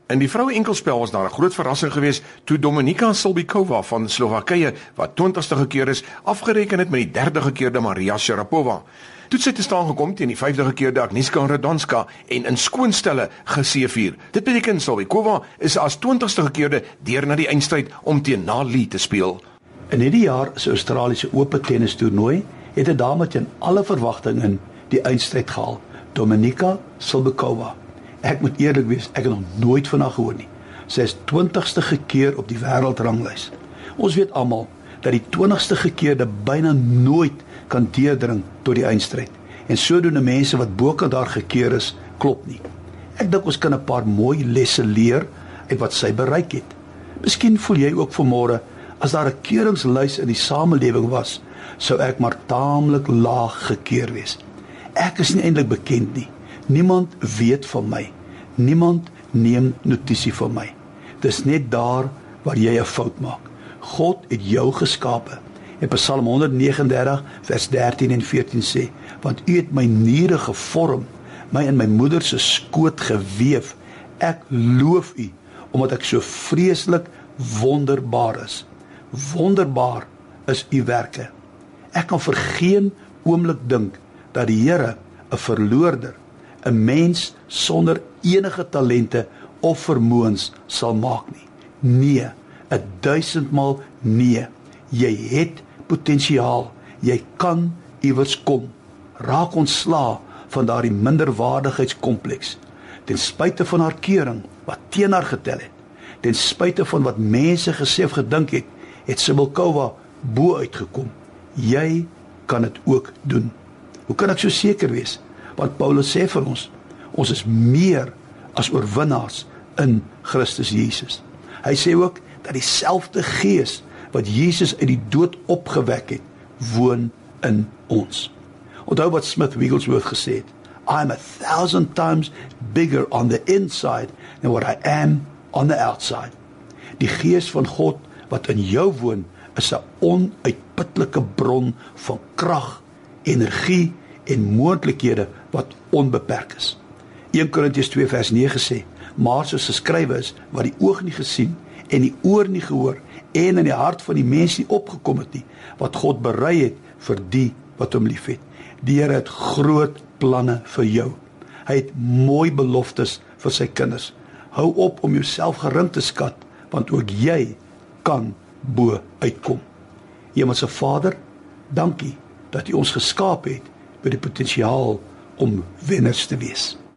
In die vroue enkelspel was daar 'n groot verrassing geweest toe Dominika Silbikova van Slowakye, wat 20ste gekeer is, afgereken het met die 3de gekeerde Maria Sharapova. Toe sy te staan gekom teen die 5de gekeerde Agnieszka Radwanska en in skoonstelle geseëvier. Dit beteken Silbikova is as 20ste gekeerde deur na die eindstryd om teen Na Li te speel. In hierdie jaar se Australiese Ope tennis toernooi het 'n dame teen alle verwagtinge die eindstryd gehaal, Dominika Silbikova. Ek moet eerlik wees, ek het nog nooit van haar gehoor nie. Sy is 20ste gekeer op die wêreldranglys. Ons weet almal dat die 20ste gekeerde byna nooit kan deurdring tot die eindstryd. En sodoende mense wat bokant daar gekeer is, klop nie. Ek dink ons kan 'n paar mooi lesse leer uit wat sy bereik het. Miskien voel jy ook vanmôre, as daar 'n keuringslys in die samelewing was, sou ek maar taamlik laag gekeer wees. Ek is nie eintlik bekend nie. Niemand weet van my. Niemand neem notisie van my. Dis net daar waar jy 'n fout maak. God het jou geskape. En Psalm 139 vers 13 en 14 sê, want U het my niere gevorm, my in my moeder se skoot geweef. Ek loof U, omdat ek so vreeslik wonderbaar is. Wonderbaar is U werke. Ek kan vir geen oomblik dink dat die Here 'n verloorder, 'n mens sonder enige talente of vermoëns sal maak nie. Nee, 1000-maal nee. Jy het potensiaal. Jy kan iewers kom. Raak ontslae van daardie minderwaardigheidskompleks. Ten spyte van haar keuring wat teen haar getel het. Ten spyte van wat mense gesê of gedink het, het Silbikova bo uitgekom. Jy kan dit ook doen. Hoe kan ek so seker wees? Want Paulus sê vir ons is meer as oorwinnaars in Christus Jesus. Hy sê ook dat dieselfde Gees wat Jesus uit die dood opgewek het, woon in ons. Onthou wat Smith Wigglesworth gesê het, I am 1,000 times bigger on the inside than what I am on the outside. Die Gees van God wat in jou woon, is 'n onuitputlike bron van krag, energie en moontlikhede wat onbeperk is. 1 Korintiërs 2 vers 9 sê, maar soos geskrywe is, wat die oog nie gesien en die oor nie gehoor en in die hart van die mens nie opgekom het nie, wat God berei het vir die wat hom liefhet. Die Here het groot planne vir jou. Hy het mooi beloftes vir sy kinders. Hou op om jouself gering te skat, want ook jy kan bo uitkom. Hemelse Vader, dankie dat U ons geskaap het met die potensiaal om wenners te wees.